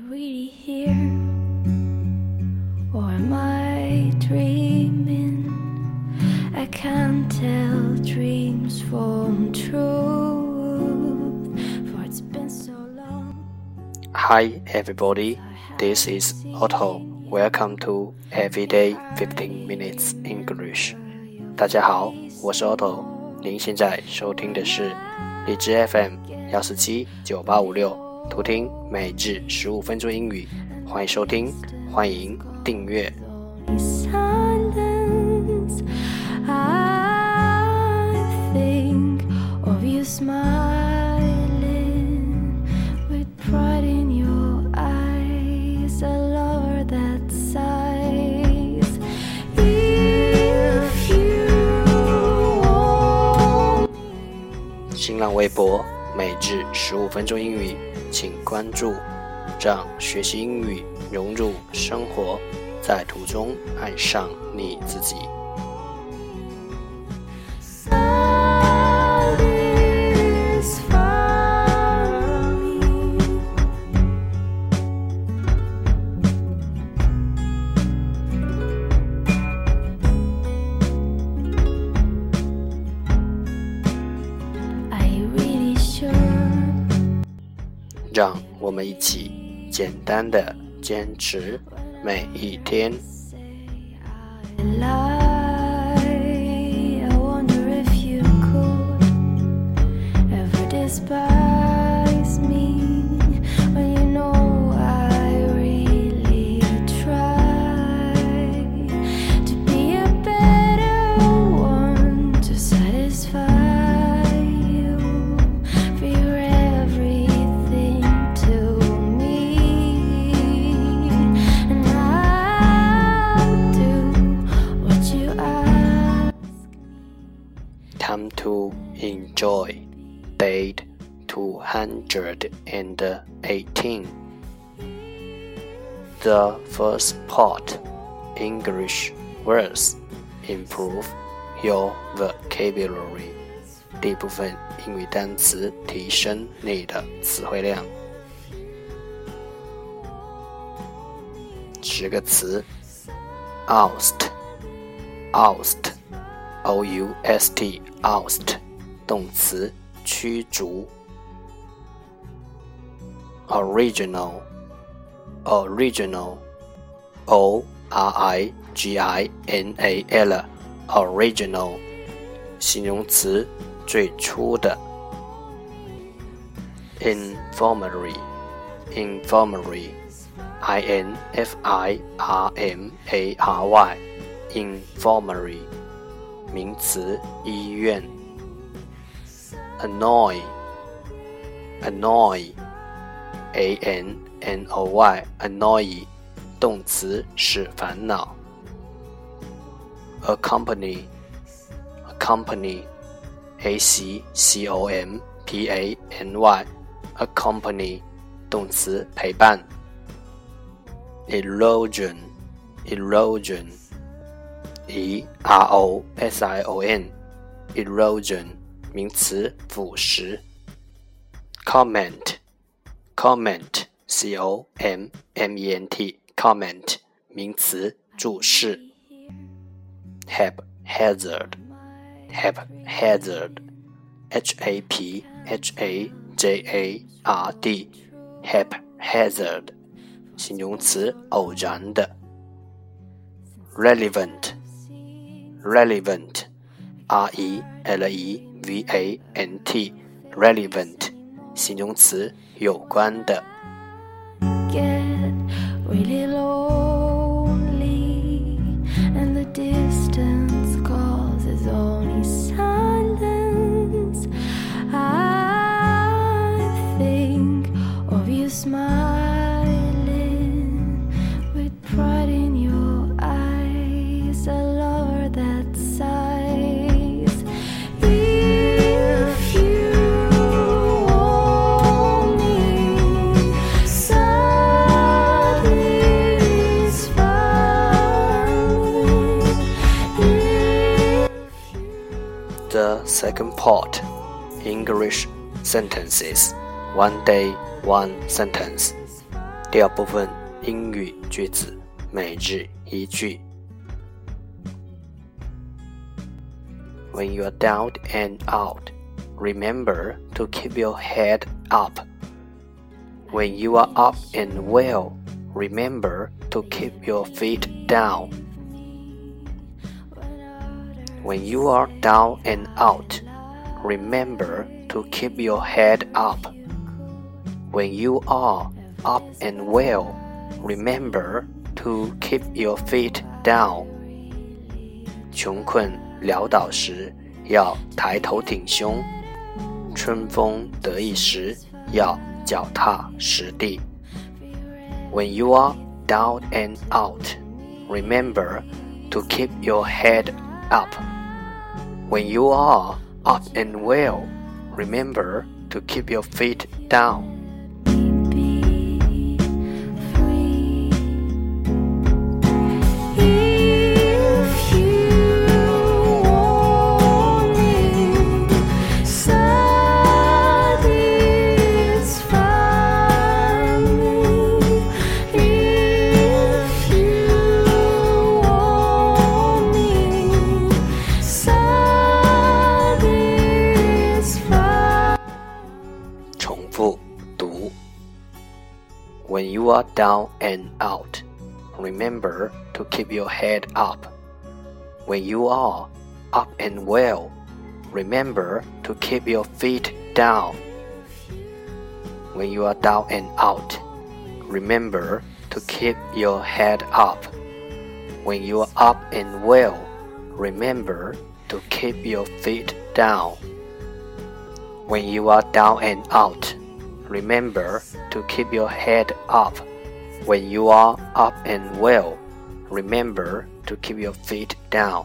really here? Or am I dreaming? I can't tell dreams from truth, for it's been so long. Hi everybody, this is Otto. Welcome to Everyday 15 Minutes English. 大家好，我是 Otto， 您现在收听的是荔枝 FM 1479856。图听每日15分钟英语，欢迎收听，欢迎订阅。新浪微博每日15分钟英语，请关注，让学习英语融入生活，在途中爱上你自己。让我们一起简单的坚持每一天。Time to enjoy. Date 218. The first part, English words. Improve your vocabulary. 第一部分英语单词，提升你的词汇量。10个词 Oust O-U-S-T Oust 动词，驱逐。Original O-R-I-G-I-N-A-L Original 形容词，最初的。Infirmary I-N-F-I-R-M-A-R-Y Infirmary 名词，医院。Annoy A-N-N-O-Y Annoy 动词，使烦恼。Accompany A-C-C-O-M-P-A-N-Y Accompany 动词，陪伴。Erosion E-R-O-S-I-O-N Erosion 名词，腐蚀。Comment C-O-M-M-E-N-T Comment 名词，注释。Haphazard H-A-P-H-A-J-A-R-D Haphazard 形容词，偶然的。Relevant R-E-L-E-V-A-N-T Relevant 形容词，有关的。 Get really lonely, and the distance causes only silence. I think of you smiling with pride in your eyes, a lover that sighs. If you want me, The second part, English sentences. One day, one sentence. 第二部分英语句子每日一句。When you are down and out, remember to keep your head up. When you are up and well, remember to keep your feet down. When you are down and out, remember to keep your head up. When you are up and well, remember to keep your feet down. 穷困潦倒时要抬头挺胸，春风得意时要脚踏实地。When you are down and out, remember to keep your head up. When you are up and well, remember to keep your feet down. When you are down and out, remember to keep your head up. When you are up and well, remember to keep your feet down. When you are down and out, remember to keep your head up. When you are up and well, remember to keep your feet down. When you are down and out, remember to keep your head up. When you are up and well, remember to keep your feet down.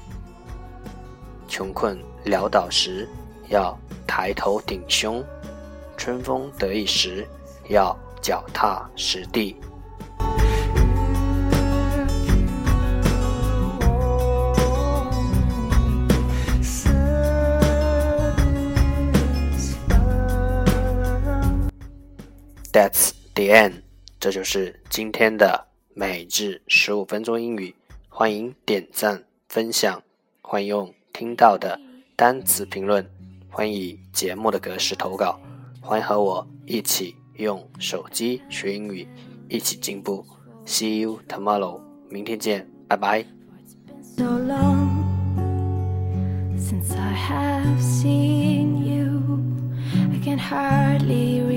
穷困潦倒时要抬头挺胸，春风得意时要脚踏实地。That's the end. 这就是今天的每日15分钟英语。欢迎点赞分享，欢迎用听到的单词评论，欢迎以节目的格式投稿，欢迎和我一起用手机学英语，一起进步。See you tomorrow. 明天见，拜拜。 So long since I have seen you, I can hardly